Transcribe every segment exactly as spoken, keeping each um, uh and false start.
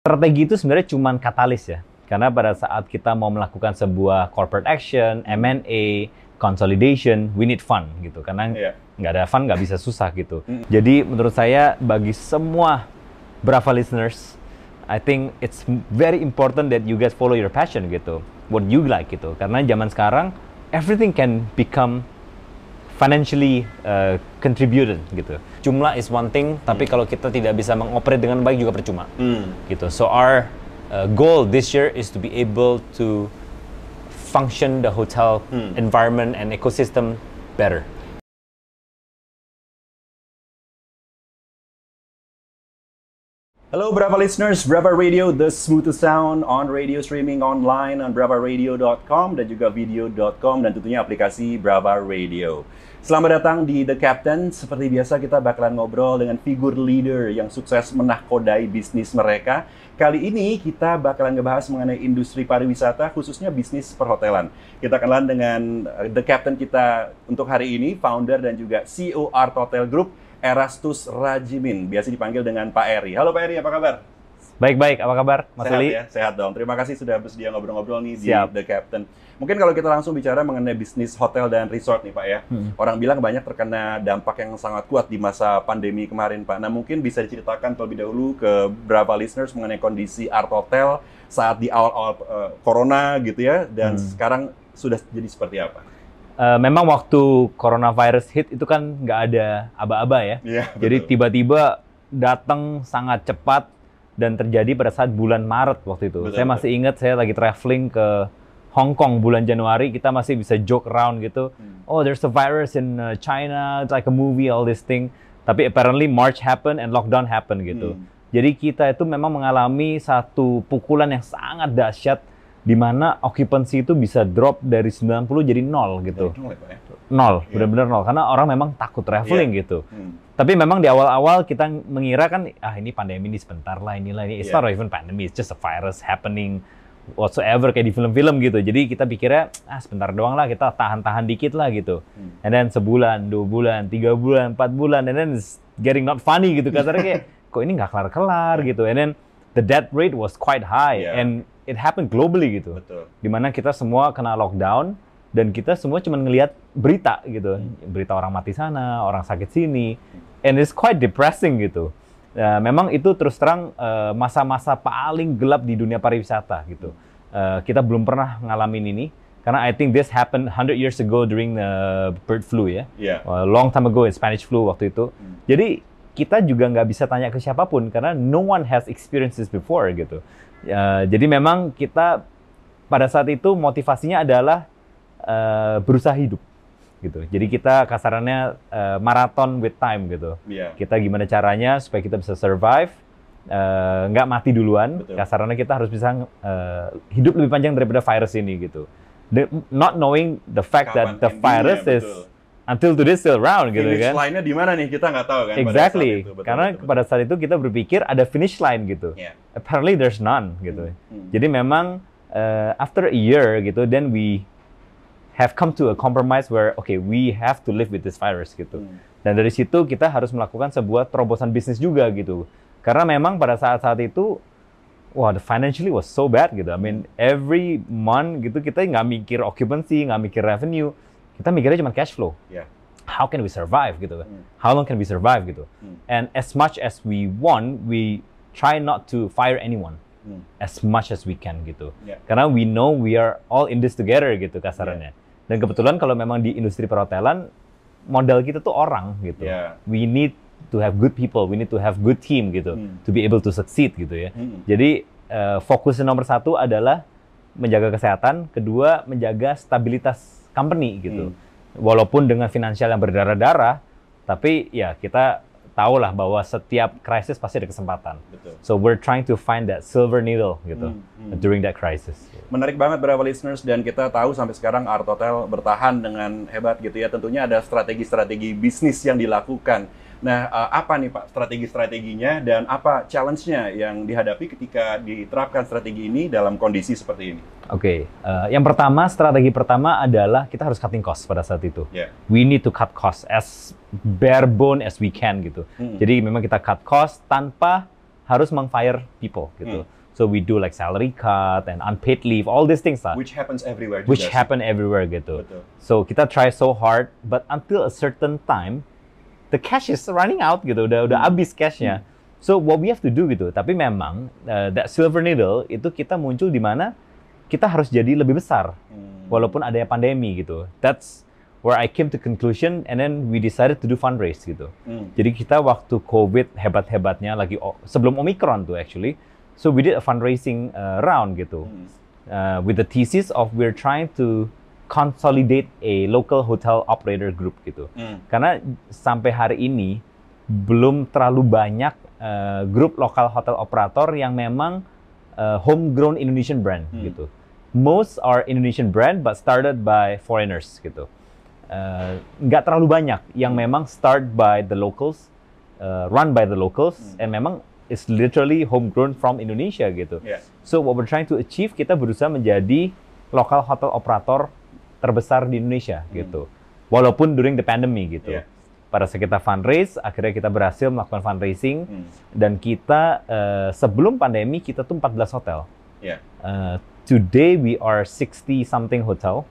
Strategi itu sebenarnya cuma katalis ya. Karena pada saat kita mau melakukan sebuah corporate action, M and A, consolidation, we need fund gitu. Karena yeah. nggak ada fund nggak bisa susah gitu. Mm. Jadi menurut saya bagi semua Brava listeners, I think it's very important that you guys follow your passion gitu. What you like gitu. Karena zaman sekarang everything can become financially uh, contributed gitu. Jumlah is one thing, hmm. tapi kalau kita tidak bisa mengoperate dengan baik juga percuma. Hmm. Gitu. So our uh, goal this year is to be able to function the hotel hmm. environment and ecosystem better. Hello Brava listeners, Brava Radio, the smoothest sound on radio streaming online on brava radio dot com dan juga video dot com dan tentunya aplikasi Brava Radio. Selamat datang di The Captain. Seperti biasa kita bakalan ngobrol dengan figur leader yang sukses menahkodai bisnis mereka. Kali ini kita bakalan ngebahas mengenai industri pariwisata, khususnya bisnis perhotelan. Kita kenalan dengan The Captain kita untuk hari ini, founder dan juga C E O Art Hotel Group, Erastus Rajimin, biasa dipanggil dengan Pak Eri. Halo Pak Eri, apa kabar? Baik-baik, apa kabar Mas Sehat Uli? Ya, sehat dong. Terima kasih sudah bersedia ngobrol-ngobrol nih Siap. di The Captain. Mungkin kalau kita langsung bicara mengenai bisnis hotel dan resort nih Pak ya. Hmm. Orang bilang banyak terkena dampak yang sangat kuat di masa pandemi kemarin Pak. Nah mungkin bisa diceritakan terlebih dahulu ke Brava listeners mengenai kondisi Art Hotel saat di awal-awal uh, Corona gitu ya. Dan hmm. sekarang sudah jadi seperti apa? Uh, memang waktu coronavirus hit itu kan nggak ada aba-aba ya. Yeah, jadi tiba-tiba datang sangat cepat dan terjadi pada saat bulan Maret waktu itu. Betul, saya masih betul. ingat saya lagi traveling ke Hong Kong bulan Januari, kita masih bisa joke around gitu. Hmm. Oh, there's a virus in uh, China, it's like a movie, all this thing. Tapi apparently March happen and lockdown happen gitu. Hmm. Jadi kita itu memang mengalami satu pukulan yang sangat dahsyat di mana occupancy itu bisa drop dari sembilan puluh jadi nol gitu. Nol, ya, nol yeah. benar-benar nol. Karena orang memang takut traveling yeah. gitu. Hmm. Tapi memang di awal-awal kita mengira kan, ah ini pandemi ini sebentar lah, inilah ini. It's yeah. not even pandemic, it's just a virus happening whatsoever kayak di film-film gitu. Jadi kita pikirnya, ah sebentar doang lah, kita tahan-tahan dikit lah gitu. Hmm. And then sebulan, dua bulan, tiga bulan, empat bulan, and then it's getting not funny gitu. Katanya kayak, kok ini nggak kelar-kelar gitu. And then the death rate was quite high. Yeah. And it happened globally gitu. Betul. Dimana kita semua kena lockdown, dan kita semua cuma ngelihat berita gitu. Hmm. Berita orang mati sana, orang sakit sini. And it's quite depressing gitu. Uh, memang itu terus terang uh, masa-masa paling gelap di dunia pariwisata gitu. Uh, kita belum pernah ngalamin ini karena I think this happened one hundred years ago during the bird flu ya. Yeah. Uh, long time ago in Spanish flu waktu itu. Hmm. Jadi kita juga nggak bisa tanya ke siapapun karena no one has experienced this before gitu. Uh, jadi memang kita pada saat itu motivasinya adalah uh, berusaha hidup. Gitu. Jadi kita kasarannya uh, marathon with time gitu. Yeah. Kita gimana caranya supaya kita bisa survive, uh, nggak mati duluan. Betul. Kasarannya kita harus bisa uh, hidup lebih panjang daripada virus ini gitu. The, not knowing the fact Kapan that the virus is betul. Until today still around gitu finish kan. Finish line-nya di mana nih kita nggak tahu kan. Exactly. Pada saat itu. Betul, Karena betul, betul. pada saat itu kita berpikir ada finish line gitu. Yeah. Apparently there's none gitu. Hmm. Hmm. Jadi memang uh, after a year gitu, then we have come to a compromise where okay we have to live with this virus gitu. Hmm. Dan dari situ kita harus melakukan sebuah terobosan bisnis juga gitu. Karena memang pada saat-saat itu wah the financially was so bad gitu. I mean every month gitu kita nggak mikir occupancy, nggak mikir revenue. Kita mikirnya cuma cash flow. Yeah. How can we survive gitu. Hmm. How long can we survive gitu. Hmm. And as much as we want, we try not to fire anyone. Hmm. As much as we can gitu. Yeah. Karena we know we are all in this together gitu kasarannya. Yeah. Dan kebetulan kalau memang di industri perhotelan modal kita tuh orang gitu. Yeah. We need to have good people, we need to have good team gitu hmm. to be able to succeed gitu ya. Hmm. Jadi uh, fokusnya nomor satu adalah menjaga kesehatan, kedua menjaga stabilitas company gitu. Hmm. Walaupun dengan finansial yang berdarah-darah, tapi ya kita tahulah bahwa setiap krisis pasti ada kesempatan. Betul. So we're trying to find that silver needle gitu hmm, hmm. during that crisis. Menarik banget Brava listeners, dan kita tahu sampai sekarang Art Hotel bertahan dengan hebat gitu ya. Tentunya ada strategi-strategi bisnis yang dilakukan. Nah, uh, apa nih Pak strategi-strateginya dan apa challenge-nya yang dihadapi ketika diterapkan strategi ini dalam kondisi seperti ini? Oke, okay. uh, yang pertama, strategi pertama adalah kita harus cutting cost pada saat itu. Yeah. We need to cut cost as bare bone as we can gitu. Hmm. Jadi memang kita cut cost tanpa harus meng-fire people gitu. Hmm. So we do like salary cut and unpaid leave, all these things lah. Which happens everywhere. Which juga happen sih. everywhere gitu. Betul. So kita try so hard, but until a certain time, the cash is running out gitu, udah udah Hmm. habis cashnya. So what we have to do gitu. Tapi memang uh, that silver needle itu kita muncul di mana kita harus jadi lebih besar, Hmm. walaupun adanya pandemi gitu. That's where I came to conclusion, and then we decided to do fundraise gitu. Hmm. Jadi kita waktu COVID hebat-hebatnya lagi o- sebelum Omicron tuh actually, so we did a fundraising uh, round gitu, Hmm. uh, with the thesis of we're trying to consolidate a local hotel operator group gitu. Hmm. Karena sampai hari ini belum terlalu banyak uh, grup lokal hotel operator yang memang uh, homegrown Indonesian brand Hmm. gitu. Most are Indonesian brand but started by foreigners gitu. Uh, nggak terlalu banyak yang memang start by the locals, uh, run by the locals, Hmm. and memang is literally homegrown from Indonesia gitu. Yeah. So what we're trying to achieve, kita berusaha menjadi lokal hotel operator terbesar di Indonesia Hmm. gitu. Walaupun during the pandemic gitu. Yeah. Pada saat kita fundraise, akhirnya kita berhasil melakukan fundraising, Hmm. dan kita uh, sebelum pandemi kita tuh empat belas hotel. Yeah. Uh, today we are sixty something hotel,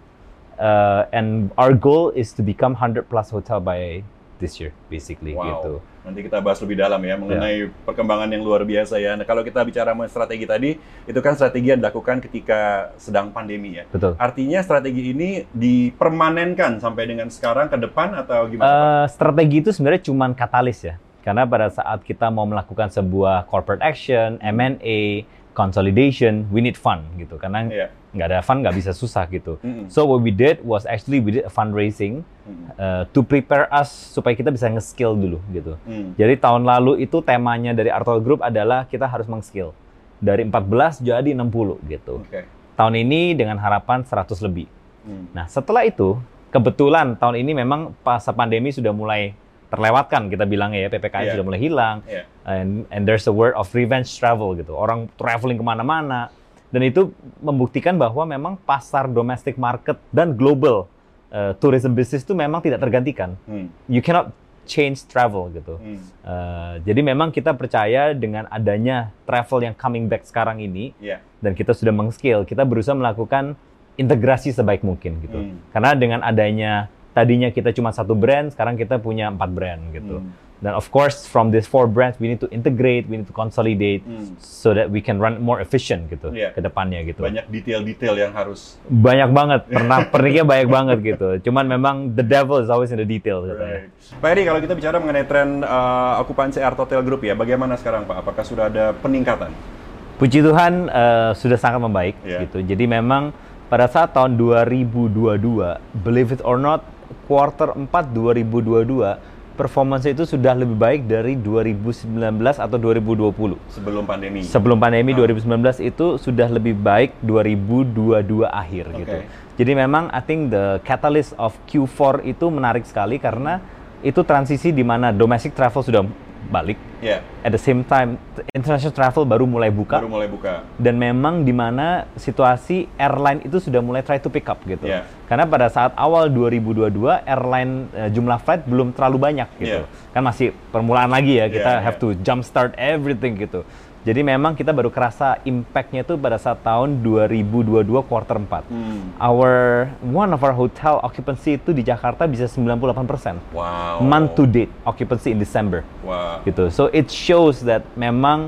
uh, and our goal is to become one hundred plus hotel by this year basically Wow. gitu. Nanti kita bahas lebih dalam ya mengenai perkembangan yang luar biasa ya. Nah, kalau kita bicara mengenai strategi tadi, itu kan strategi yang dilakukan ketika sedang pandemi ya. Betul. Artinya strategi ini dipermanenkan sampai dengan sekarang ke depan atau gimana, Pak? Uh, strategi itu sebenarnya cuma katalis ya. Karena pada saat kita mau melakukan sebuah corporate action, M and A, consolidation, we need fund gitu. Karena Iya. nggak ada fund nggak bisa susah gitu. Mm-mm. So what we did was actually we did a fundraising Mm. uh, to prepare us supaya kita bisa nge-skill dulu gitu. Mm. Jadi tahun lalu itu temanya dari Artol Group adalah kita harus meng-skill. Dari empat belas jadi enam puluh gitu. Oke. Tahun ini dengan harapan seratus lebih. Mm. Nah, setelah itu, kebetulan tahun ini memang masa pandemi sudah mulai terlewatkan, kita bilangnya ya, P P K M Iya. sudah mulai hilang, Iya. and, and there's a word of revenge travel gitu. Orang traveling kemana-mana, dan itu membuktikan bahwa memang pasar domestic market dan global uh, tourism business itu memang tidak tergantikan. Mm. You cannot change travel gitu. Mm. Uh, jadi memang kita percaya dengan adanya travel yang coming back sekarang ini, Iya. dan kita sudah meng-scale, kita berusaha melakukan integrasi sebaik mungkin gitu. Hmm. Karena dengan adanya tadinya kita cuma satu brand, sekarang kita punya empat brand gitu. Hmm. Dan of course from these four brands we need to integrate, we need to consolidate, Hmm. so that we can run more efficient gitu Iya. ke depannya gitu. Banyak detail-detail yang harus. Banyak banget, pernah perniknya banyak banget gitu. Cuman memang the devil is always in the detail katanya. Right. Pak Eri, kalau kita bicara mengenai tren uh, okupansi Art Hotel Group ya, bagaimana sekarang Pak? Apakah sudah ada peningkatan? Puji Tuhan uh, sudah sangat membaik Iya. gitu. Jadi memang pada saat tahun dua ribu dua puluh dua, believe it or not, quarter empat dua ribu dua puluh dua performance itu sudah lebih baik dari dua ribu sembilan belas atau dua ribu dua puluh. Sebelum pandemi. Sebelum pandemi Ah. dua ribu sembilan belas itu sudah lebih baik dua ribu dua puluh dua akhir Oke. gitu. Jadi memang I think the catalyst of Q four itu menarik sekali karena itu transisi di mana domestic travel sudah balik. Ya, At the same time international travel baru mulai buka. baru mulai buka. Dan memang di mana situasi airline itu sudah mulai try to pick up gitu. Yeah. Karena pada saat awal dua ribu dua puluh dua airline uh, jumlah flight belum terlalu banyak gitu. Yeah. Kan masih permulaan lagi ya, kita Yeah, have yeah. to jump start everything gitu. Jadi memang kita baru kerasa impact-nya itu pada saat tahun dua ribu dua puluh dua quarter empat. Hmm. Our one of our hotel occupancy itu di Jakarta bisa sembilan puluh delapan persen. Wow. Month to date occupancy in December. Wow. Gitu. So it shows that memang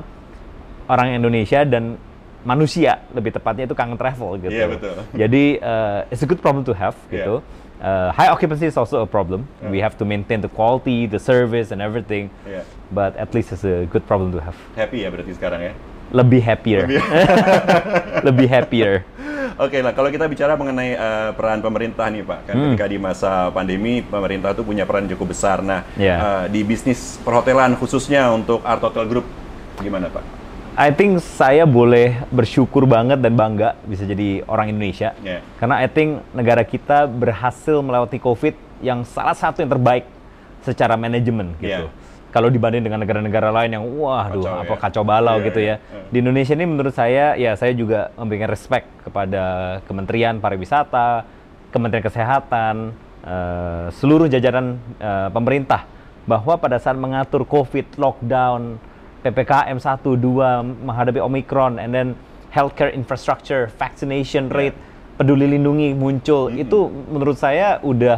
orang Indonesia dan manusia lebih tepatnya itu kangen travel gitu. Iya, betul. Jadi uh, it's a good problem to have gitu. Uh, high occupancy is also a problem. Yeah. We have to maintain the quality, the service and everything. Iya. But at least it's a good problem to have. Happy ya berarti sekarang ya? Lebih happier. Lebih- Lebih happier. Oke lah, kalau kita bicara mengenai uh, peran pemerintah nih Pak, kan Hmm. ketika di masa pandemi pemerintah tuh punya peran cukup besar. Nah, Yeah. uh, di bisnis perhotelan khususnya untuk Art Hotel Group gimana Pak? I think saya boleh bersyukur banget dan bangga bisa jadi orang Indonesia. Yeah. Karena I think negara kita berhasil melewati COVID yang salah satu yang terbaik secara manajemen gitu. Yeah. Kalau dibanding dengan negara-negara lain yang wah, aduh, Kacau apa ya. kacau balau Yeah, gitu yeah. ya. Di Indonesia ini menurut saya, ya saya juga memberikan respect kepada Kementerian Pariwisata, Kementerian Kesehatan, eh, seluruh jajaran eh, pemerintah bahwa pada saat mengatur COVID, lockdown, P P K M satu, dua, menghadapi Omicron, and then healthcare infrastructure, vaccination rate, yeah. peduli lindungi muncul, mm-hmm. itu menurut saya udah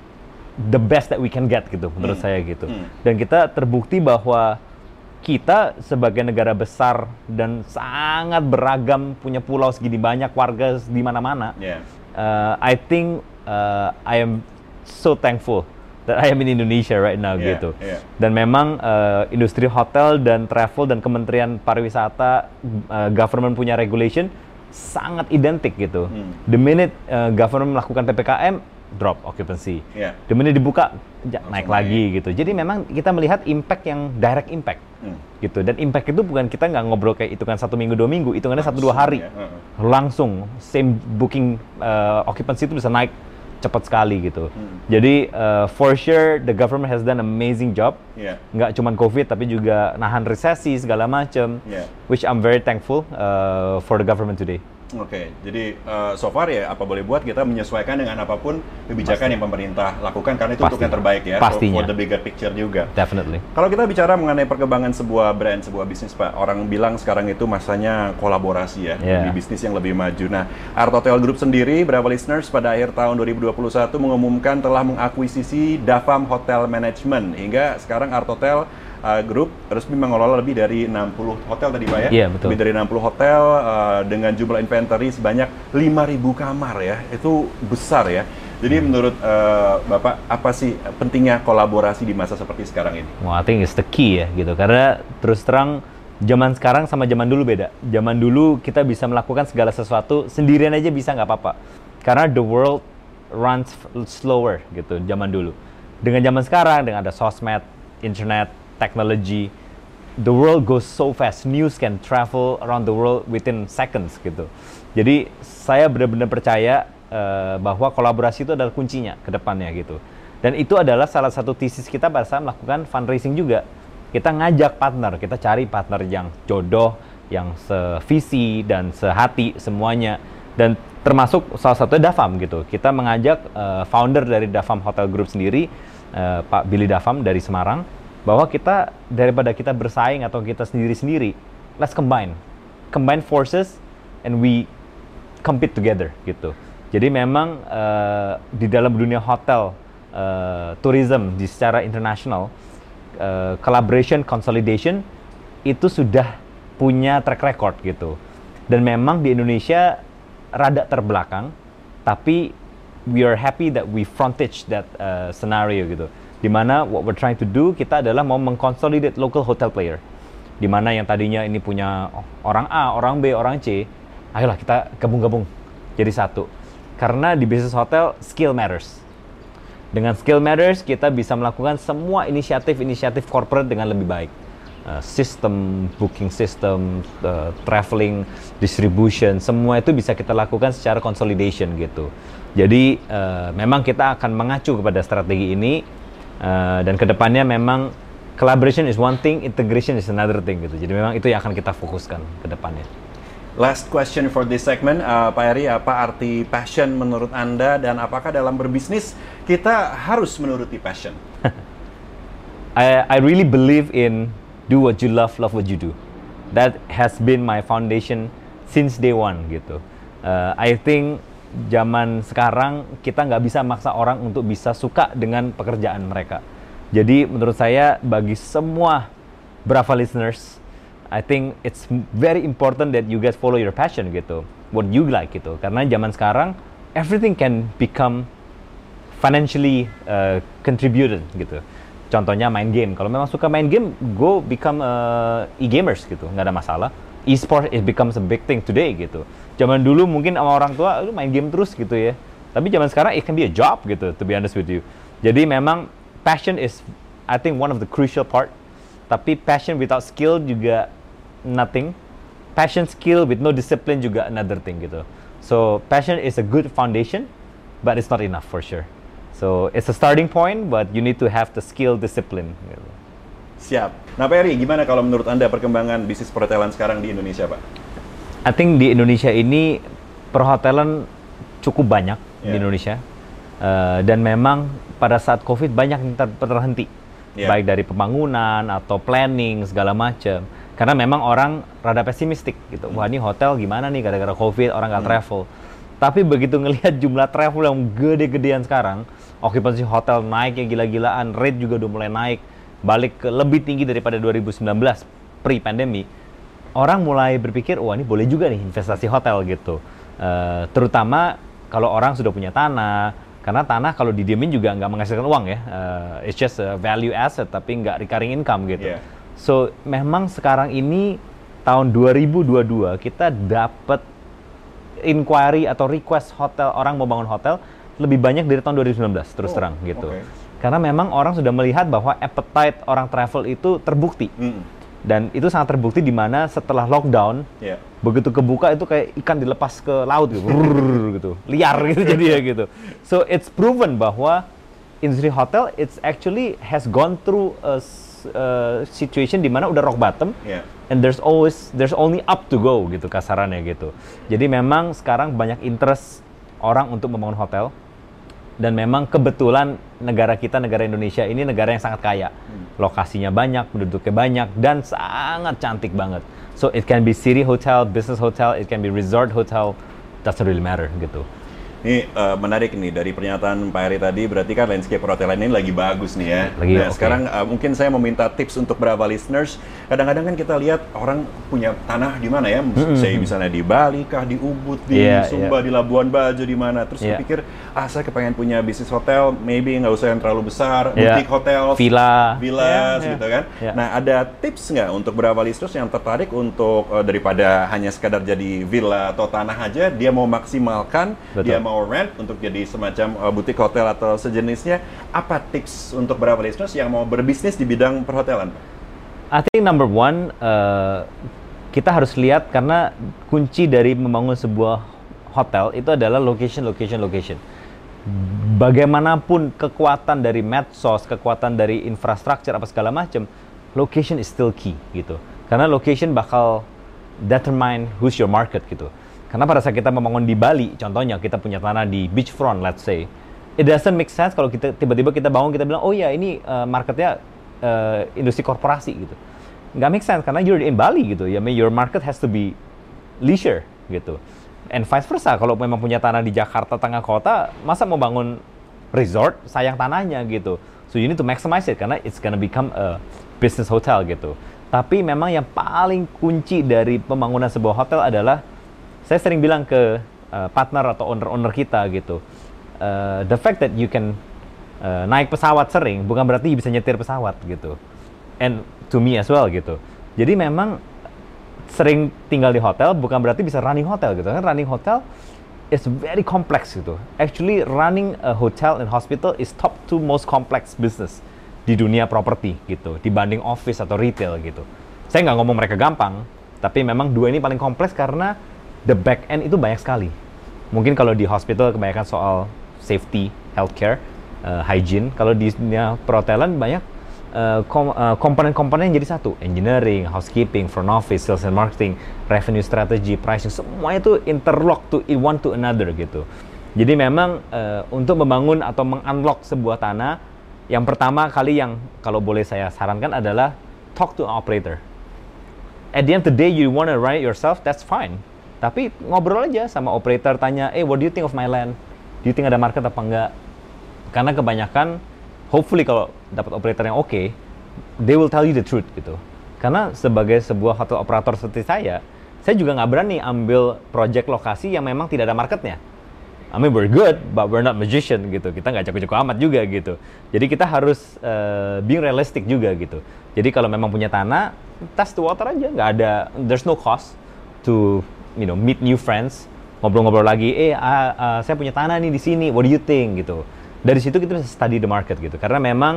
the best that we can get gitu, menurut mm. saya gitu. Mm. Dan kita terbukti bahwa kita sebagai negara besar dan sangat beragam, punya pulau segini banyak, warga di mana-mana. Yeah. Uh, I think uh, I am so thankful that I am in Indonesia right now yeah, gitu. Yeah. Dan memang uh, industri hotel dan travel dan Kementerian Pariwisata, uh, government punya regulation sangat identik gitu. Mm. The minute uh, government melakukan P P K M, drop occupancy. Yeah. The minute dibuka, ja, naik lagi gitu. Jadi memang kita melihat impact yang direct impact mm. gitu. Dan impact itu bukan kita nggak ngobrol kayak hitungan satu minggu dua minggu, hitungannya satu dua hari. Ya. Uh-huh. Langsung same booking uh, occupancy itu bisa naik cepat sekali gitu. Mm. Jadi uh, for sure the government has done amazing job. Yeah. Nggak cuma COVID tapi juga nahan resesi segala macam. Yeah. Which I'm very thankful uh, for the government today. Oke, okay, jadi uh, so far ya apa boleh buat kita menyesuaikan dengan apapun kebijakan Pasti. yang pemerintah lakukan karena itu Pasti. untuk yang terbaik ya, Pastinya. for the bigger picture juga. Definitely. Kalau kita bicara mengenai perkembangan sebuah brand, sebuah bisnis Pak, orang bilang sekarang itu masanya kolaborasi ya, yeah. di bisnis yang lebih maju. Nah, Art Hotel Group sendiri, berapa listeners pada akhir tahun dua ribu dua puluh satu mengumumkan telah mengakuisisi Dafam Hotel Management, hingga sekarang Art Hotel Uh, Group resmi mengelola lebih dari enam puluh hotel tadi Pak ya? Iya, betul. Lebih dari enam puluh hotel uh, dengan jumlah inventory sebanyak lima ribu kamar ya. Itu besar ya. Jadi hmm. menurut uh, Bapak, apa sih pentingnya kolaborasi di masa seperti sekarang ini? Well, I think it's the key ya gitu. Karena terus terang zaman sekarang sama zaman dulu beda. Zaman dulu kita bisa melakukan segala sesuatu sendirian aja bisa nggak apa-apa. Karena the world runs slower gitu zaman dulu. Dengan zaman sekarang, dengan ada sosmed, internet, technology, the world goes so fast. News can travel around the world within seconds gitu. Jadi saya benar-benar percaya uh, bahwa kolaborasi itu adalah kuncinya ke depannya gitu. Dan itu adalah salah satu tesis kita pada saat melakukan fundraising juga. Kita ngajak partner, kita cari partner yang jodoh, yang sevisi dan sehati semuanya. Dan termasuk salah satunya Dafam gitu. Kita mengajak uh, founder dari Dafam Hotel Group sendiri, uh, Pak Billy Dafam dari Semarang, bahwa kita daripada kita bersaing atau kita sendiri-sendiri, let's combine, combine forces and we compete together gitu. Jadi memang uh, di dalam dunia hotel, uh, tourism di secara internasional, uh, collaboration, consolidation itu sudah punya track record gitu. Dan memang di Indonesia rada terbelakang, tapi we are happy that we frontage that uh, scenario gitu. Dimana what we're trying to do, kita adalah mau mengconsolidate local hotel player. Dimana yang tadinya ini punya orang A, orang B, orang C, ayolah kita gabung-gabung jadi satu. Karena di bisnis hotel, skill matters. Dengan skill matters, kita bisa melakukan semua inisiatif-inisiatif corporate dengan lebih baik. Uh, sistem, booking system, uh, traveling, distribution, semua itu bisa kita lakukan secara consolidation gitu. Jadi uh, memang kita akan mengacu kepada strategi ini. Uh, dan kedepannya memang collaboration is one thing, integration is another thing gitu. Jadi memang itu yang akan kita fokuskan ke depannya. Last question for this segment, uh, Pak Eri, apa arti passion menurut Anda dan apakah dalam berbisnis kita harus menuruti passion? I, I really believe in do what you love, love what you do. That has been my foundation since day one gitu. Uh, I think zaman sekarang kita nggak bisa maksa orang untuk bisa suka dengan pekerjaan mereka. Jadi menurut saya bagi semua Brava listeners, I think it's very important that you guys follow your passion gitu, what you like gitu. Karena zaman sekarang everything can become financially uh, contributed gitu. Contohnya main game. Kalau memang suka main game, go become uh, e-gamers gitu, nggak ada masalah. E-sport it becomes a big thing today gitu. Zaman dulu mungkin sama orang tua lu main game terus gitu ya. Tapi zaman sekarang it can be a job gitu, to be honest with you. Jadi memang passion is I think one of the crucial part. Tapi passion without skill juga nothing. Passion skill with no discipline juga another thing gitu. So passion is a good foundation, but it's not enough for sure. So it's a starting point, but you need to have the skill, discipline gitu. Siap. Nah Pak Eri, gimana kalau menurut Anda perkembangan bisnis perhotelan sekarang di Indonesia Pak? I think di Indonesia ini perhotelan cukup banyak yeah. di Indonesia uh, dan memang pada saat COVID banyak yang ter terhenti Yeah. baik dari pembangunan atau planning segala macam. Karena memang orang rada pesimistik gitu. Wah ini hotel gimana nih gara-gara COVID orang nggak hmm. travel. Tapi begitu ngelihat jumlah travel yang gede-gedean sekarang, occupancy hotel naik ya gila-gilaan, rate juga udah mulai naik, balik ke lebih tinggi daripada dua ribu sembilan belas pre-pandemic. Orang mulai berpikir, wah ini boleh juga nih investasi hotel gitu. Uh, terutama kalau orang sudah punya tanah, karena tanah kalau didiemin juga nggak menghasilkan uang ya. Uh, it's just a value asset tapi nggak recurring income gitu. Yeah. So, memang sekarang ini tahun dua ribu dua puluh dua kita dapat inquiry atau request hotel, orang mau bangun hotel lebih banyak dari tahun dua ribu sembilan belas terus oh, terang gitu. Okay. Karena memang orang sudah melihat bahwa appetite orang travel itu terbukti. Mm. Dan itu sangat terbukti di mana setelah lockdown, yeah. begitu kebuka itu kayak ikan dilepas ke laut gitu. Brrr, gitu. Liar gitu jadi ya gitu. So, it's proven bahwa industri hotel it's actually has gone through a Uh, situation di mana udah rock bottom, yeah. and there's always there's only up to go gitu kasarannya gitu. Jadi memang sekarang banyak interest orang untuk membangun hotel, dan memang kebetulan negara kita, negara Indonesia ini negara yang sangat kaya, hmm. lokasinya banyak, penduduknya banyak, dan sangat cantik banget. So it can be city hotel, business hotel, it can be resort hotel, doesn't really matter gitu. Ini uh, menarik nih dari pernyataan Pak Heri tadi, berarti kan landscape perhotelan ini lagi bagus nih ya. Lagi, nah, okay. Sekarang uh, mungkin saya mau minta tips untuk Brava listeners. Kadang-kadang kan kita lihat orang punya tanah di mana ya, mm-hmm. saya misalnya di Bali kah, di Ubud, di yeah, Sumba, yeah. di Labuan Bajo, di mana. Terus yeah. saya pikir, ah saya kepengen punya bisnis hotel, maybe nggak usah yang terlalu besar, yeah. boutique hotel, villa, villas yeah, gitu kan. Yeah. Nah ada tips nggak untuk Brava listeners yang tertarik untuk uh, daripada hanya sekadar jadi villa atau tanah aja, dia mau maksimalkan, Betul. dia mau rent untuk jadi di semacam uh, butik hotel atau sejenisnya, apa tips untuk Brava listeners yang mau berbisnis di bidang perhotelan? I think number one, uh, kita harus lihat karena kunci dari membangun sebuah hotel itu adalah location, location, location. Bagaimanapun kekuatan dari medsos, kekuatan dari infrastruktur apa segala macam, location is still key gitu. Karena location bakal determine who's your market gitu. Karena pada saat kita membangun di Bali, contohnya kita punya tanah di beachfront, let's say, it doesn't make sense kalau kita tiba-tiba kita bangun, kita bilang, oh ya ini uh, marketnya uh, industri korporasi gitu. Nggak make sense, karena you're in Bali gitu. Ya, I mean, your market has to be leisure gitu. And vice versa, kalau memang punya tanah di Jakarta, tengah kota, masa mau bangun resort, sayang tanahnya gitu. So you need to maximize it, karena it's gonna become a business hotel gitu. Tapi memang yang paling kunci dari pembangunan sebuah hotel adalah, saya sering bilang ke uh, partner atau owner-owner kita gitu, uh, the fact that you can uh, naik pesawat sering bukan berarti bisa nyetir pesawat gitu, and to me as well gitu. Jadi memang sering tinggal di hotel bukan berarti bisa running hotel gitu kan. Running hotel is very complex gitu. Actually running a hotel and hospital is top two most complex business di dunia properti gitu, dibanding office atau retail gitu. Saya nggak ngomong mereka gampang, tapi memang dua ini paling kompleks karena the back end itu banyak sekali. Mungkin kalau di hospital kebanyakan soal safety, healthcare, uh, hygiene. Kalau di dunia perhotelan banyak uh, kom- uh, komponen-komponen yang jadi satu. Engineering, housekeeping, front office, sales and marketing, revenue strategy, pricing. Semuanya itu interlock to one to another gitu. Jadi memang uh, untuk membangun atau meng-unlock sebuah tanah, yang pertama kali yang kalau boleh saya sarankan adalah talk to an operator. At the end of the day, you want to run it yourself, that's fine. Tapi ngobrol aja sama operator, tanya, eh, what do you think of my land? Do you think ada market apa enggak? Karena kebanyakan, hopefully kalau dapat operator yang oke, okay, they will tell you the truth gitu. Karena sebagai sebuah hotel operator seperti saya, saya juga nggak berani ambil project lokasi yang memang tidak ada marketnya. I mean, we're good, but we're not magician gitu. Kita nggak jago-jago amat juga gitu. Jadi kita harus uh, being realistic juga gitu. Jadi kalau memang punya tanah, test the water aja. Nggak ada, there's no cost to you know, meet new friends, ngobrol-ngobrol lagi, eh, uh, uh, saya punya tanah nih di sini, what do you think, gitu. Dari situ kita bisa study the market, gitu. Karena memang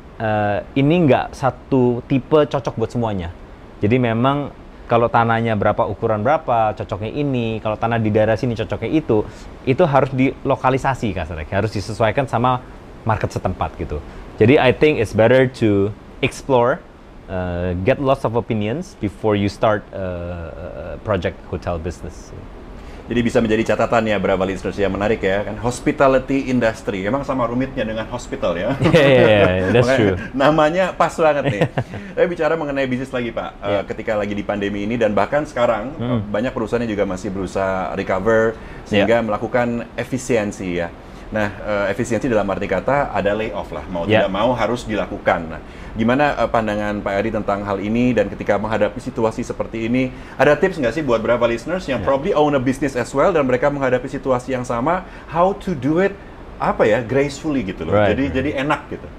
uh, ini nggak satu tipe cocok buat semuanya. Jadi memang kalau tanahnya berapa, ukuran berapa, cocoknya ini, kalau tanah di daerah sini cocoknya itu, itu harus dilokalisasi kasarnya, harus disesuaikan sama market setempat, gitu. Jadi I think it's better to explore, Uh, get lots of opinions before you start a uh, project hotel business. Jadi bisa menjadi catatan ya, Brava listeners, yang menarik ya kan, hospitality industry. Emang sama rumitnya dengan hospital ya. Yeah, yeah, yeah, that's true. Namanya pas banget nih. Tapi bicara mengenai bisnis lagi Pak, yeah. uh, ketika lagi di pandemi ini dan bahkan sekarang hmm. uh, banyak perusahaan yang juga masih berusaha recover sehingga yeah. melakukan efisiensi ya. Nah, uh, efisiensi dalam arti kata ada layoff lah, mau yeah. tidak mau harus dilakukan. Nah, gimana uh, pandangan Pak Eri tentang hal ini, dan ketika menghadapi situasi seperti ini, ada tips nggak sih buat Brava listeners yang yeah. probably own a business as well dan mereka menghadapi situasi yang sama, how to do it apa ya gracefully gitu loh, right. jadi jadi enak gitu.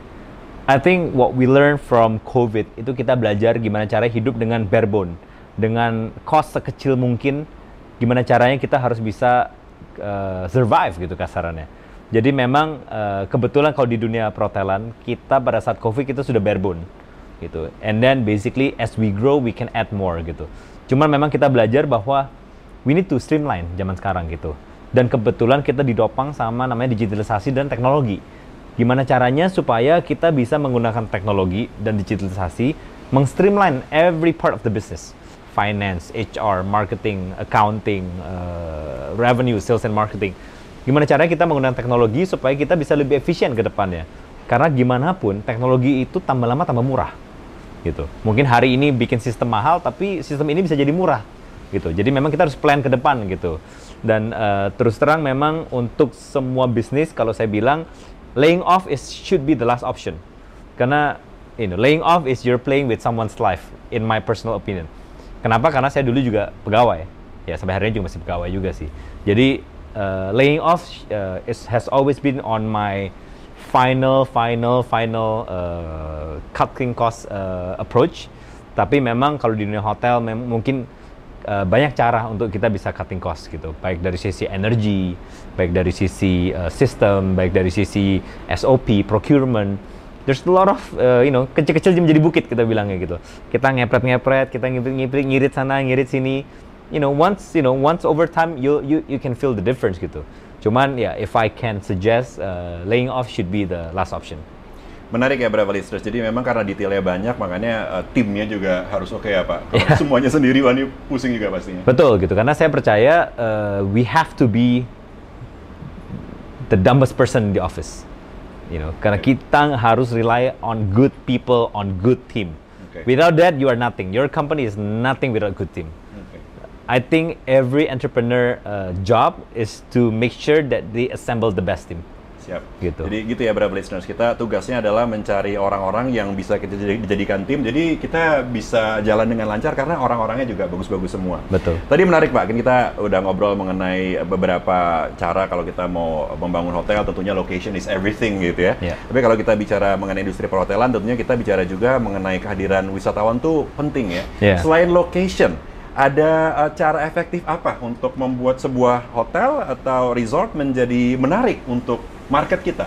I think what we learn from COVID itu kita belajar gimana cara hidup dengan bare bone, dengan cost sekecil mungkin, gimana caranya kita harus bisa uh, survive gitu kasarannya. Jadi memang uh, kebetulan kalau di dunia perhotelan kita pada saat COVID kita sudah bare bone gitu. And then basically as we grow we can add more gitu. Cuman memang kita belajar bahwa we need to streamline zaman sekarang gitu. Dan kebetulan kita didopang sama namanya digitalisasi dan teknologi. Gimana caranya supaya kita bisa menggunakan teknologi dan digitalisasi meng-streamline every part of the business. Finance, H R, marketing, accounting, uh, revenue, sales and marketing. Gimana caranya kita menggunakan teknologi supaya kita bisa lebih efisien ke depannya. Karena gimana pun teknologi itu tambah lama tambah murah. Gitu. Mungkin hari ini bikin sistem mahal tapi sistem ini bisa jadi murah. Gitu. Jadi memang kita harus plan ke depan gitu. Dan uh, terus terang memang untuk semua bisnis kalau saya bilang laying off is should be the last option. Karena you know, laying off is you're playing with someone's life in my personal opinion. Kenapa? Karena saya dulu juga pegawai. Ya sampai hari ini juga masih pegawai juga sih. Jadi Uh, laying off uh, is, has always been on my final, final, final uh, cutting cost uh, approach. Tapi memang kalau di dunia hotel mem- mungkin uh, banyak cara untuk kita bisa cutting cost gitu. Baik dari sisi energi, baik dari sisi uh, sistem, baik dari sisi S O P, procurement. There's a lot of, uh, you know, kecil-kecil menjadi bukit kita bilangnya gitu. Kita ngepret-ngepret, kita ngiprit-ngiprit, ngirit sana, ngirit sini. You know, once you know, once over time, you you you can feel the difference gitu. Cuman ya, yeah, if I can suggest, uh, laying off should be the last option. Menarik ya Brava listeners. Jadi memang karena detailnya banyak, makanya uh, timnya juga harus oke okay ya Pak. Kalau yeah. semuanya sendiri, wah ini pusing juga pastinya. Betul gitu, karena saya percaya uh, we have to be the dumbest person in the office. You know, karena okay. kita harus rely on good people, on good team. Okay. Without that, you are nothing. Your company is nothing without good team. I think every entrepreneur uh, job is to make sure that they assemble the best team. Siap. Gitu. Jadi gitu ya Brava listeners, kita tugasnya adalah mencari orang-orang yang bisa kita dijadikan tim. Jadi kita bisa jalan dengan lancar karena orang-orangnya juga bagus-bagus semua. Betul. Tadi menarik Pak, kita udah ngobrol mengenai beberapa cara kalau kita mau membangun hotel, tentunya location is everything gitu ya. Yeah. Tapi kalau kita bicara mengenai industri perhotelan, tentunya kita bicara juga mengenai kehadiran wisatawan tuh penting ya. Yeah. Selain location, ada uh, cara efektif apa untuk membuat sebuah hotel atau resort menjadi menarik untuk market kita?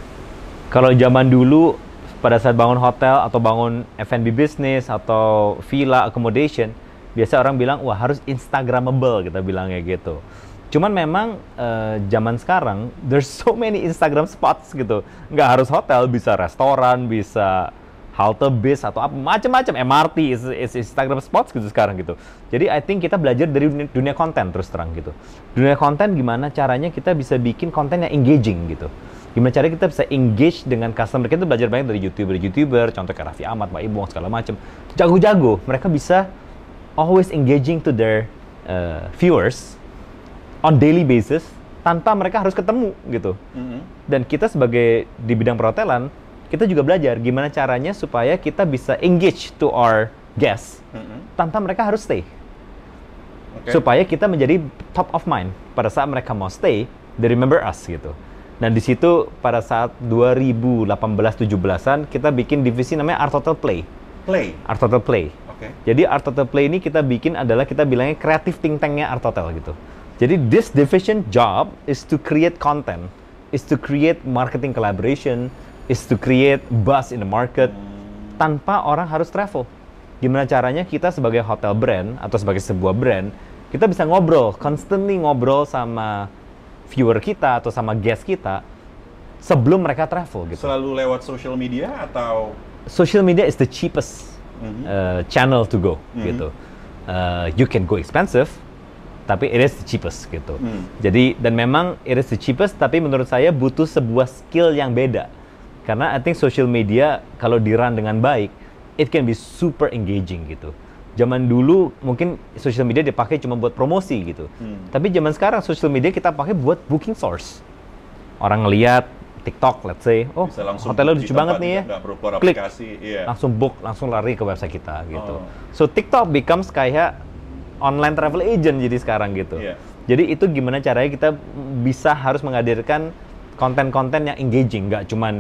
Kalau zaman dulu pada saat bangun hotel atau bangun F and B business atau villa accommodation, biasa orang bilang wah harus instagramable, kita bilangnya gitu. Cuman memang uh, zaman sekarang there's so many Instagram spots gitu. Nggak harus hotel, bisa restoran, bisa halte bis atau apa macam-macam, M R T is, is Instagram spots gitu sekarang gitu. Jadi I think kita belajar dari dunia, dunia konten terus terang gitu. Dunia konten gimana caranya kita bisa bikin konten yang engaging gitu. Gimana caranya kita bisa engage dengan customer. Kita belajar banyak dari YouTuber-YouTuber, contoh kayak Raffi Ahmad, Pak Ibong segala macam. Jago-jago, mereka bisa always engaging to their uh, viewers on daily basis tanpa mereka harus ketemu gitu. Mm-hmm. Dan kita sebagai di bidang perhotelan, kita juga belajar gimana caranya supaya kita bisa engage to our guests mm-hmm. tanpa mereka harus stay. Okay. Supaya kita menjadi top of mind pada saat mereka mau stay, they remember us gitu. Dan di situ pada saat dua ribu delapan belas tujuh belasan kita bikin divisi namanya Art Hotel Play. Play. Art Hotel Play. Okay. Jadi Art Hotel Play ini kita bikin adalah kita bilangnya creative think tank-nya Art Hotel gitu. Jadi this division job is to create content, is to create marketing collaboration, is to create buzz in the market tanpa orang harus travel. Gimana caranya kita sebagai hotel brand atau sebagai sebuah brand, kita bisa ngobrol, constantly ngobrol sama viewer kita atau sama guest kita sebelum mereka travel gitu. Selalu lewat social media atau? Social media is the cheapest mm-hmm. uh, channel to go mm-hmm. gitu. Uh, you can go expensive, tapi it is the cheapest gitu. Hmm. Jadi dan memang it is the cheapest, tapi menurut saya butuh sebuah skill yang beda. Karena I think social media kalau di-run dengan baik, it can be super engaging gitu. Zaman dulu mungkin social media dipakai cuma buat promosi gitu. Hmm. Tapi zaman sekarang social media kita pakai buat booking source. Orang ngeliat TikTok, let's say, oh hotelnya lucu banget nih ya, klik, yeah. langsung book, langsung lari ke website kita gitu. Oh. So TikTok becomes kayak online travel agent jadi sekarang gitu. Yeah. Jadi itu gimana caranya kita bisa harus menghadirkan konten-konten yang engaging, nggak cuman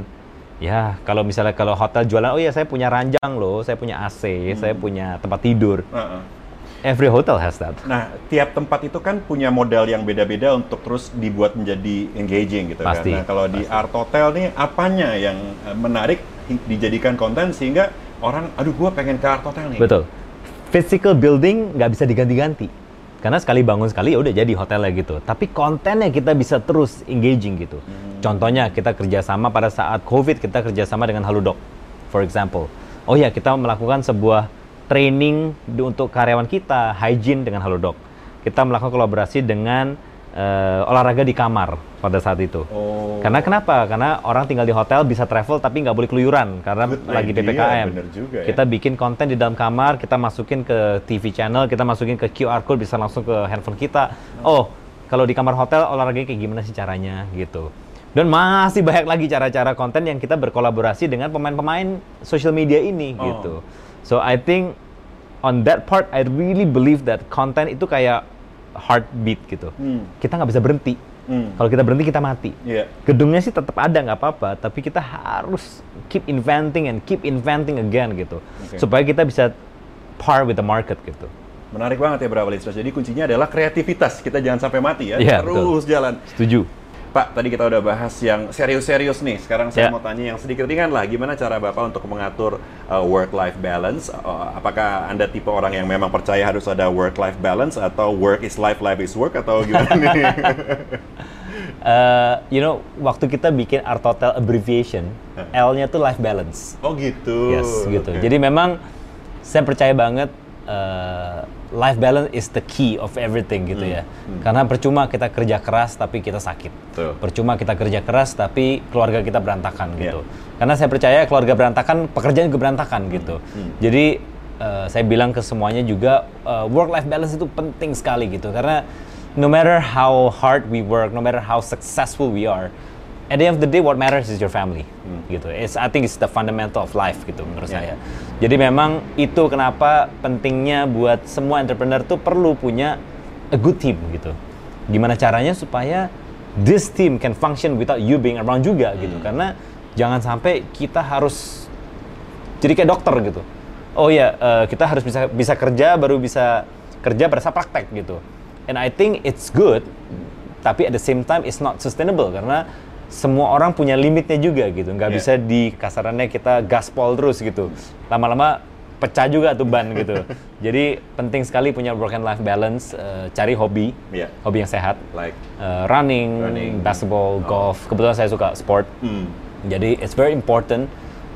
ya kalau misalnya kalau hotel jualan, oh ya saya punya ranjang loh, saya punya A C, hmm. saya punya tempat tidur. Uh-uh. Every hotel has that. Nah, tiap tempat itu kan punya modal yang beda-beda untuk terus dibuat menjadi engaging gitu. Pasti, kan. Nah, kalau pasti. di Art Hotel nih apanya yang menarik dijadikan konten sehingga orang, aduh gua pengen ke Art Hotel nih. Betul. Physical building nggak bisa diganti-ganti. Karena sekali bangun sekali ya udah jadi hotelnya gitu. Tapi kontennya kita bisa terus engaging gitu. Hmm. Contohnya kita kerjasama pada saat COVID, kita kerjasama dengan Halodoc, for example. Oh ya, kita melakukan sebuah training untuk karyawan kita, hygiene dengan Halodoc. Kita melakukan kolaborasi dengan uh, olahraga di kamar pada saat itu. Oh. Karena kenapa? Karena orang tinggal di hotel bisa travel tapi nggak boleh keluyuran karena Good lagi P P K M. Bener juga, ya. Kita bikin konten di dalam kamar, kita masukin ke T V channel, kita masukin ke Q R code bisa langsung ke handphone kita. Oh, kalau di kamar hotel olahraganya kayak gimana sih caranya gitu. Dan masih banyak lagi cara-cara konten yang kita berkolaborasi dengan pemain-pemain social media ini oh. gitu. So I think on that part I really believe that konten itu kayak heartbeat gitu. Hmm. Kita nggak bisa berhenti. Hmm. Kalau kita berhenti kita mati. Yeah. Gedungnya sih tetap ada nggak apa-apa, tapi kita harus keep inventing and keep inventing again gitu, okay. supaya kita bisa par with the market gitu. Menarik banget ya Brava Listeners. Jadi kuncinya adalah kreativitas. Kita jangan sampai mati ya. Yeah, terus betul. Jalan. Setuju. Pak, tadi kita udah bahas yang serius-serius nih. Sekarang saya yeah. mau tanya yang sedikit ringan lah. Gimana cara Bapak untuk mengatur uh, work-life balance? Uh, apakah Anda tipe orang yang memang percaya harus ada work-life balance atau work is life, life is work atau gimana nih? uh, you know, waktu kita bikin Art Hotel abbreviation, L-nya tuh life balance. Oh gitu. Yes, gitu. Okay. Jadi memang saya percaya banget uh, life balance is the key of everything gitu hmm. ya. Hmm. Karena percuma kita kerja keras tapi kita sakit. Tuh. Percuma kita kerja keras tapi keluarga kita berantakan yeah. gitu. Karena saya percaya keluarga berantakan, pekerjaan juga berantakan hmm. gitu. Hmm. Jadi uh, saya bilang ke semuanya juga uh, work life balance itu penting sekali gitu. Karena no matter how hard we work, no matter how successful we are, at the end of the day what matters is your family hmm. gitu. It's, I think it's the fundamental of life gitu menurut yeah. saya. Jadi memang itu kenapa pentingnya buat semua entrepreneur tuh perlu punya a good team gitu. Gimana caranya supaya this team can function without you being around juga hmm. gitu. Karena jangan sampai kita harus jadi kayak dokter gitu. Oh ya, uh, kita harus bisa bisa kerja baru bisa kerja pada saat praktek gitu. And I think it's good, tapi at the same time it's not sustainable karena semua orang punya limitnya juga gitu, nggak yeah. bisa di kasarannya kita gaspol terus gitu, lama-lama pecah juga tuh ban gitu. Jadi penting sekali punya work and life balance, uh, cari hobi, yeah. hobi yang sehat, like uh, running, running, basketball, oh. golf. Kebetulan saya suka sport, mm. jadi it's very important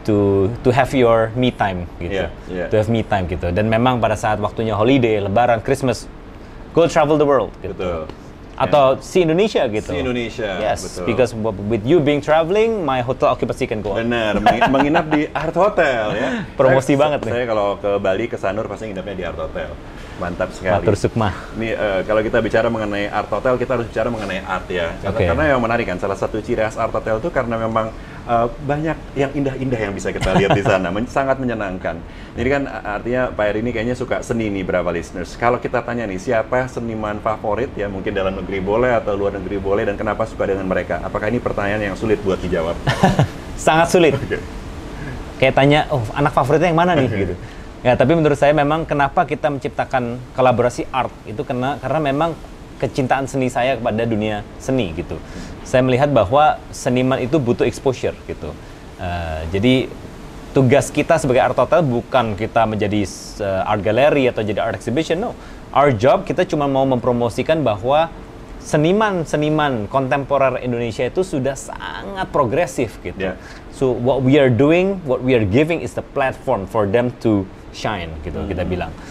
to to have your me time gitu, yeah, yeah. to have me time gitu. Dan memang pada saat waktunya holiday, Lebaran, Christmas, go travel the world gitu. Betul. Atau yeah. si Indonesia gitu. Si Indonesia, yes, betul. Because with you being traveling, my hotel occupancy can go up. Benar, menginap di Art Hotel ya. Promosi saya, banget saya, nih. Saya kalau ke Bali, ke Sanur pasti nginapnya di Art Hotel. Mantap sekali. Matur sukma. Nih uh, kalau kita bicara mengenai Art Hotel, kita harus bicara mengenai art ya. Karena, okay. karena yang menarik kan, salah satu ciri khas Art Hotel itu karena memang uh, banyak yang indah-indah yang bisa kita lihat di sana, Men- sangat menyenangkan. Jadi kan artinya Pak Heri ini kayaknya suka seni nih, Brava Listeners. Kalau kita tanya nih, siapa seniman favorit ya, mungkin dalam negeri boleh atau luar negeri boleh, dan kenapa suka dengan mereka? Apakah ini pertanyaan yang sulit buat dijawab? Sangat sulit. Okay. Kayak tanya, oh anak favoritnya yang mana nih gitu. Ya, tapi menurut saya memang kenapa kita menciptakan kolaborasi art itu karena karena memang kecintaan seni saya kepada dunia seni gitu. Saya melihat bahwa seniman itu butuh exposure gitu. Uh, jadi tugas kita sebagai Art Hotel bukan kita menjadi uh, art gallery atau jadi art exhibition, no. Our job kita cuma mau mempromosikan bahwa seniman-seniman kontemporer Indonesia itu sudah sangat progresif gitu. Yeah. So what we are doing, what we are giving is the platform for them to shine gitu hmm. kita bilang.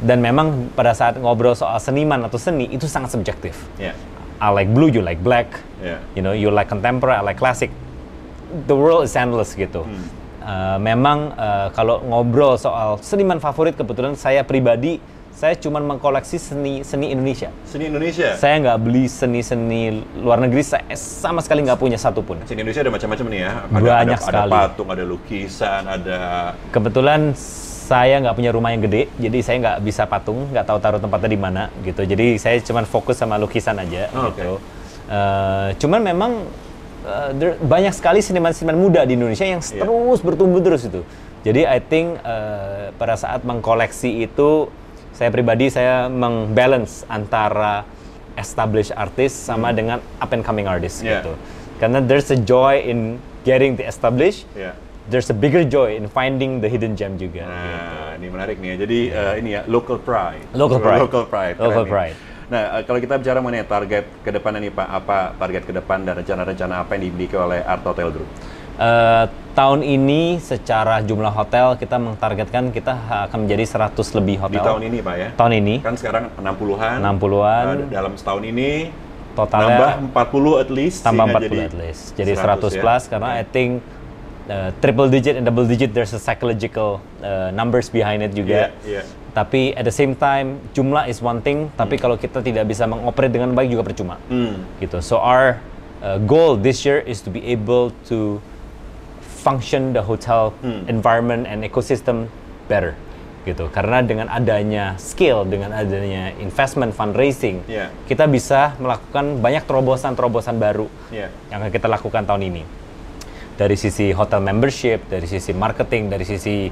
Dan memang pada saat ngobrol soal seniman atau seni itu sangat subjektif. Yeah. I like blue, you like black. Yeah. You know, you like contemporary, I like classic. The world is endless gitu. Hmm. Uh, memang uh, kalau ngobrol soal seniman favorit, kebetulan saya pribadi saya cuma mengkoleksi seni seni Indonesia. Seni Indonesia. Saya nggak beli seni-seni luar negeri. Saya sama sekali nggak punya satupun. Seni Indonesia ada macam-macam nih ya. Ada, Banyak ada, sekali. Ada patung, ada lukisan, ada. Kebetulan saya nggak punya rumah yang gede, jadi saya nggak bisa patung, nggak tahu taruh tempatnya di mana gitu. Jadi saya cuma fokus sama lukisan aja Oh, gitu. Okay. Uh, cuman memang uh, there, banyak sekali seniman-seniman muda di Indonesia yang Yeah. terus bertumbuh terus itu. Jadi I think uh, pada saat mengkoleksi itu, saya pribadi saya mengbalance antara established artist sama hmm. dengan up and coming artist Yeah. gitu. Karena there's a joy in getting the established. Yeah. There's a bigger joy in finding the hidden gem juga. Nah, gitu. ini menarik nih. Jadi uh, ini ya local pride. Local pride. Local pride. Local Keren pride. nih. Nah, uh, kalau kita bicara mengenai target ke depan nih Pak, apa target ke depan dan rencana-rencana apa yang dimiliki oleh Art Hotel Group? Uh, tahun ini secara jumlah hotel kita mentargetkan kita akan menjadi seratus lebih hotel. Di tahun ini Pak ya? Tahun ini. Kan sekarang enam puluhan. enam puluhan. Uh, dalam setahun ini totalnya nambah empat puluh at least. Tambah empat jadi puluh at least. Jadi seratus, ya? plus karena Okay. I think uh, triple digit and double digit there's a psychological uh, numbers behind it juga. Yeah, yeah. Tapi at the same time jumlah is one thing, tapi Hmm. kalau kita tidak bisa mengoperate dengan baik juga percuma. Hmm. Gitu. So our uh, goal this year is to be able to function the hotel Hmm. environment and ecosystem better. Gitu. Karena dengan adanya scale, dengan adanya investment fundraising, Yeah. kita bisa melakukan banyak terobosan-terobosan baru Yeah. yang akan kita lakukan tahun ini. Dari sisi hotel membership, dari sisi marketing, dari sisi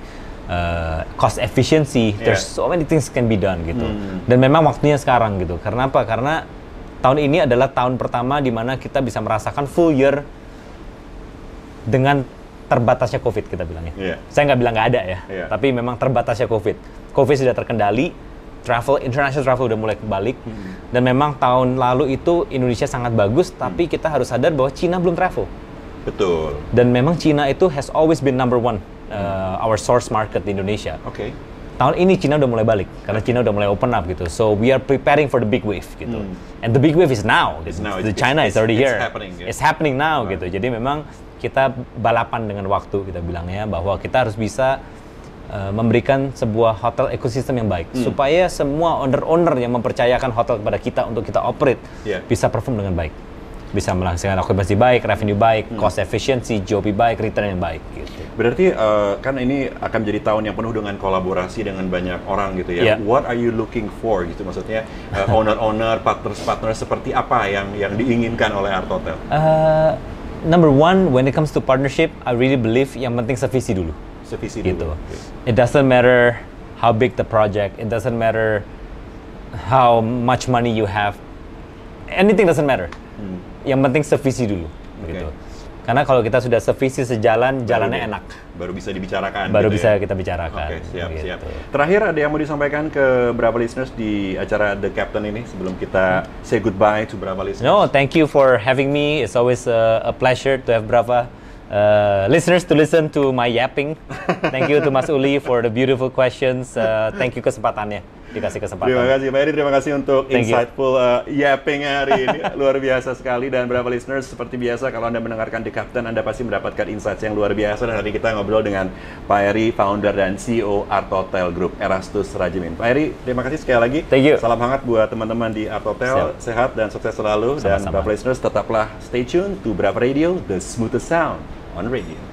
uh, cost efficiency, Yeah. there's so many things can be done gitu. Hmm. Dan memang waktunya sekarang gitu. Karena apa? Karena tahun ini adalah tahun pertama di mana kita bisa merasakan full year dengan terbatasnya COVID kita bilangnya. Yeah. Saya nggak bilang nggak ada ya, Yeah. tapi memang terbatasnya COVID. COVID sudah terkendali, travel, international travel udah mulai kembali, Hmm. dan memang tahun lalu itu Indonesia sangat bagus, tapi kita harus sadar bahwa Cina belum travel. Betul. Dan memang Cina itu has always been number one, uh, our source market di Indonesia. Oke. Okay. Tahun ini Cina udah mulai balik, karena Cina udah mulai open up gitu. So we are preparing for the big wave gitu. Hmm. And the big wave is now. It's gitu. now. The It's- China it's- is already it's here. happening, yeah. It's happening now Right. gitu. Jadi memang kita balapan dengan waktu, kita bilangnya bahwa kita harus bisa uh, memberikan sebuah hotel ekosistem yang baik, Hmm. supaya semua owner-owner yang mempercayakan hotel kepada kita untuk kita operate Yeah. bisa perform dengan baik, bisa menghasilkan okupansi baik, revenue baik, Hmm. cost efficiency, G O P baik, return yang baik gitu. Berarti uh, kan ini akan menjadi tahun yang penuh dengan kolaborasi dengan banyak orang gitu ya. Yeah. What are you looking for gitu, maksudnya uh, owner-owner, partners-partners seperti apa yang yang diinginkan oleh Art Hotel? Uh, number one, when it comes to partnership, I really believe yang penting sevisi dulu. Sevisi Gitu. dulu. Okay. It doesn't matter how big the project, it doesn't matter how much money you have, anything doesn't matter. Hmm. Yang penting sevisi dulu, Okay. gitu. Karena kalau kita sudah sevisi sejalan, jalannya Baru- enak. Baru bisa dibicarakan. Baru gitu bisa ya? kita bicarakan. Oke, siap, gitu. siap. Terakhir ada yang mau disampaikan ke Brava listeners di acara The Captain ini sebelum kita say goodbye to Brava listeners? No, thank you for having me. It's always a, a pleasure to have Brava uh, listeners to listen to my yapping. Thank you to Mas Uli for the beautiful questions. Uh, thank you kesempatannya, dikasih kesempatan. Terima kasih Pak Eri, terima kasih untuk Thank you. insightful uh, yapping hari ini. Luar biasa sekali. Dan Brava listeners, seperti biasa kalau Anda mendengarkan The Captain, Anda pasti mendapatkan insights yang luar biasa. Dan hari kita ngobrol dengan Pak Eri, founder dan C E O Art Hotel Group, Erastus Rajimin. Pak Eri, terima kasih sekali lagi. Thank you. Salam hangat buat teman-teman di Art Hotel. Siap. Sehat dan sukses selalu. Dan Sama-sama. Brava listeners, tetaplah stay tune to Brava Radio, the smoothest sound on radio.